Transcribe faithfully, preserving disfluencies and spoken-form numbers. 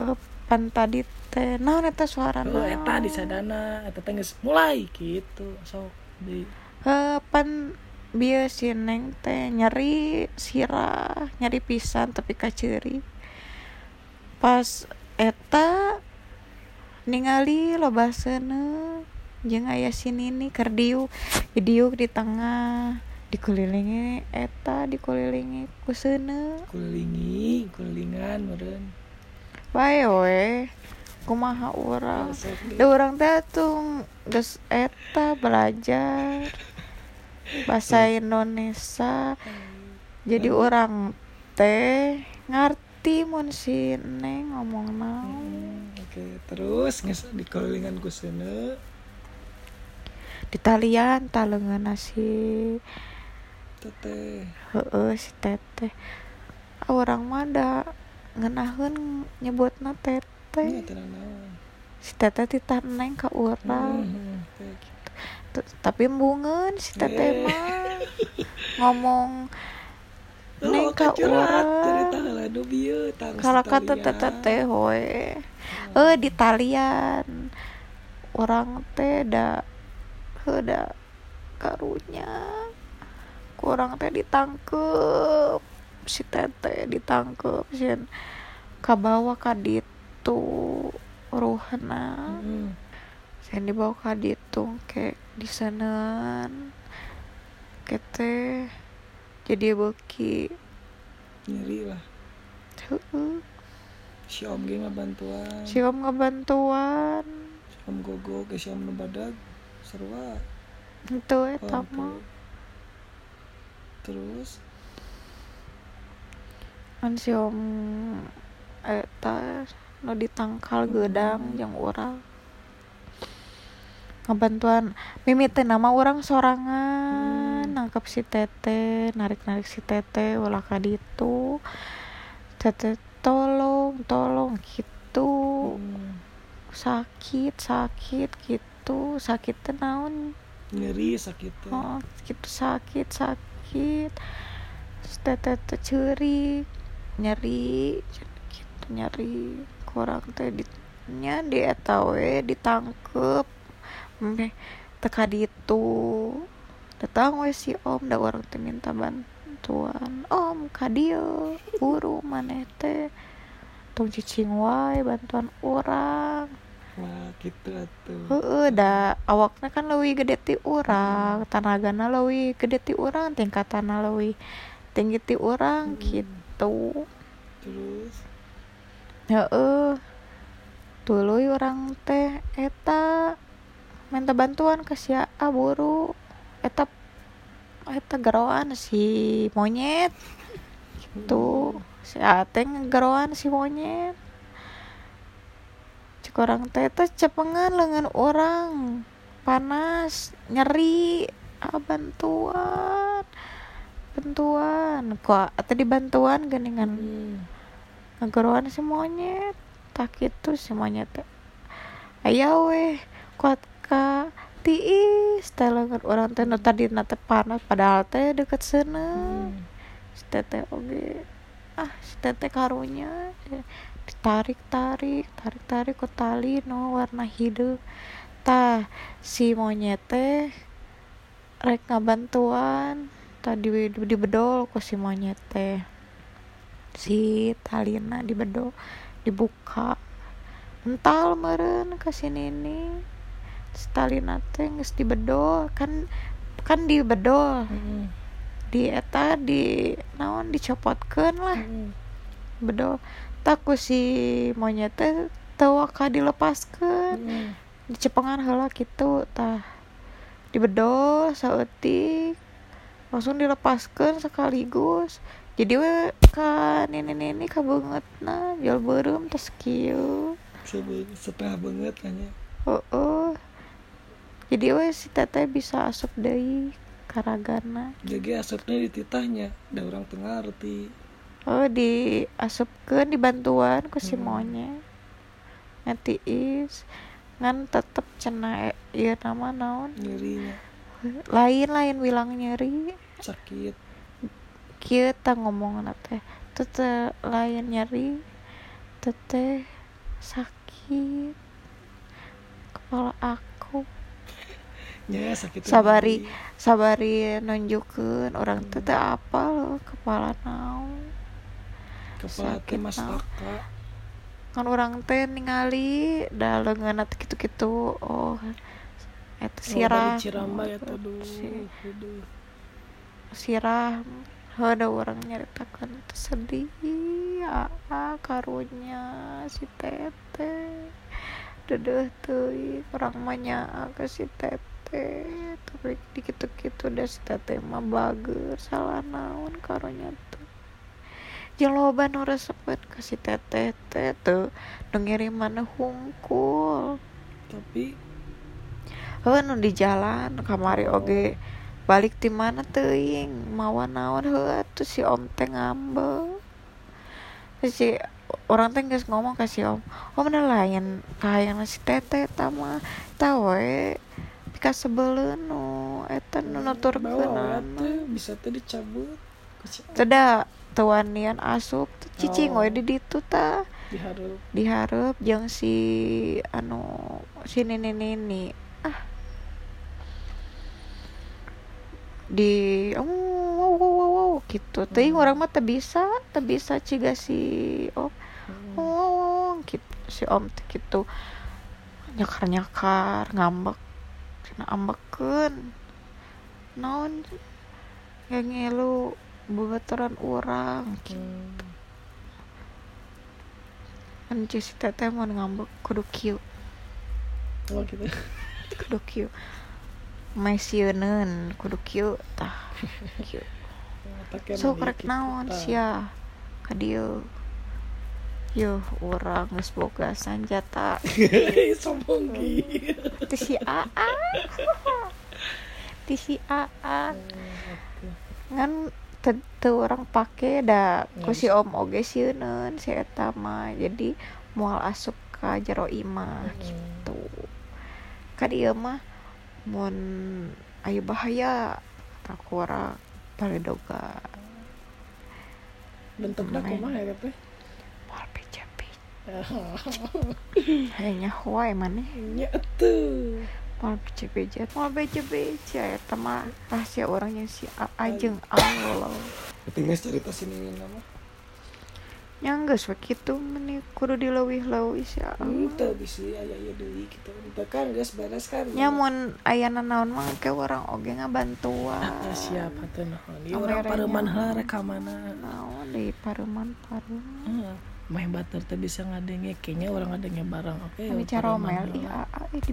pan tadi teh naon eta suara oh eta di sadana eta teh geus mulai gitu sok di eh pan bieu si neng teh nyeri sirah nyeri pisan tapi kaceuri pas eta ningali lobaseuneu jeung aya si Nini keur diuk diuk di tengah dikelilingi eta dikelilingi ku seuneu kulilingi kulilingan meureun bae we kumaha urang sok da urang teh tuh geus eta belajar bahasa Indonesia jadi urang teh ngarti mun si Neng ngomong naon. Hmm, oke okay. Terus geus dikelilingan ku seuneu Di talian taleungeunna si teteh heueuh si teteh ah, urang mah da ngeunaheun nyebutna teteh nya teh naon si teteh titah Neng ka urang hmm, okay. T- tapi embungeun si teteh mah ngomong Neng ka urang kalau kata teteh teh we eh di talian urang teh da heuda karunya kurang teh ditangkep si teteh ditangkep sieun kabawa ka ditu ruhna hmm. sieun dibawa ka ditu ke diseuneun kete jadi beuki nyeri lah heueuh si om ge ngabantuan si om ngabantuan si om gogo ke si om nu badag sarua henteu eta mah terus kan si om eta nu ditangkal geudang jeung urang ngabantuan mimiti nama urang sorangan hmm. nangkep si teteh narik-narik si teteh ulah ka ditu teteh tolong tolong gitu hmm. sakit sakit gitu sakit teh naon nyeri sakit teh oh gitu sakit sakit terus teteh teh ceurik nyeri gitu nyeri kurang teh di nya di eta we ditangkep meh teka ditu datang we si om da urang teh minta bantuan om ka dieu buru maneh teh tong cicing wae bantuan urang wah gitu atuh heueuh da awakna kan leuwih gede ti urang tanagana leuwih gede ti urang tingkatanna leuwih tinggi ti urang hmm. gitu terus heueuh tuluy urang teh eta minta bantuan ka si A buru eta eta garoan si monyet gitu si A teh garoan si monyet cek urang teh teh cepengan leungeun urang panas nyeri ah bantuan bantuan kok tadi bantuan geuningan hmm. ngageroan si monyet tak kitu si monyet teh aya weh kuat ka tiis teh leungeun urang teh nu tadina teh panas padahal teh deukeut seuneu hmm. si teteh oge ah si teteh karunya ditarik-tarik tarik-tarik ku tali nu warna hideu tah si monyet teh rek ngabantuan tadi di bedol ku si monyet teh si talina di bedol dibuka ental meureun ka si Nini si talina teh geus dibedol kan kan di bedol hmm. di eta di naon dicopotkeun lah hmm. bedol tak ku si monyet teh teu waka dilepaskeun hmm. dicepengan heula kitu tah dibedol saeutik langsung dilepaskeun sekaligus jadi we ka nini-nini kabeungeutna jual beureum tos kieu setengah banget kayaknya heueuh jadi we si teteh bisa asup deui ka ragana jadi asupnya di titahnya da urang teu ngarti oh diasupkeun dibantuan ku si hmm. monyet ngatiis ngan tetep cenah ieu nama naon nyerinya lain-lain bilang nyeri sakit kieu tah ngomongna teh teu teh lain nyeri teh teh sakit kepala aku. Ya sakit sabari sabari nunjukeun orang teh teh apa loh kepala naon kepala teh sakit mas naon. Aka Kan orang teh ningali da leungeunna teh kitu-kitu. Oh eta sirah oh, Ciramba ya tuh duh, si, duh. sirah ada orang nyaritakeun teh sedih aa karunya si teteh dedeh teuing orang mah nyaa ke si teteh tapi dikitu-kitu da si teteh mah bager salah naon karunya teh jeung loba nu resepkeun ka si teteh teh teu nu ngiriman hungkul tapi heuh nu di jalan kamari oge balik ti mana teuing mawa naon heuh atuh si om teh ngambek si orang teh geus ngomong ka si om om na lain kahayang si teteh eta mah eta we pika sebeleun nu eta nu nuturkeunana teh bisa teh dicabut teu da teu wanian asup cicing we di ditu tah dihareup dihareup jeung si anu si nini-nini ah di oh wow wow wow, wow gitu teuing urang mah teu bisa teu bisa ciga si om hmm. oh gitu si om teh gitu nyakar-nyakar ngambek cenah ambekeun naon ngelu babaturan urang gitu hmm. kan si teteh mun ngambek kudu kieu oh gitu kudu kieu maisieun kudu kieu tah kieu so karek naon sia ka dieu yuh urang geus boga sanjata sombong gitu ti si aa ti si aa ngan teu urang pake da ku si om oge sieun si eta mah jadi moal asup ka jero imah gitu ka dieu mah mun aya bahaya tak urang baledoga bentukna kumaha ya teh moal beja-beja hanya wae maneh nya atuh moal beja-beja moal beja-beja eta mah rahasia urang yang si ajeng Allah tinggal cerita sini nama nya geus we kitu meni kudu dileuwih-leuwih sia henteu bisi aya ieu deui kitu teh kan geus beres kan nya mun aya naon mah ke urang oge ngabantuan ah, siap atuh naon ieu urang pareuman heula rek ka mana naon deui pareuman pareuman heeh mah batur teh bisa ngadenge kayaknya urang ngadenge barang oke okay, cara omel ieu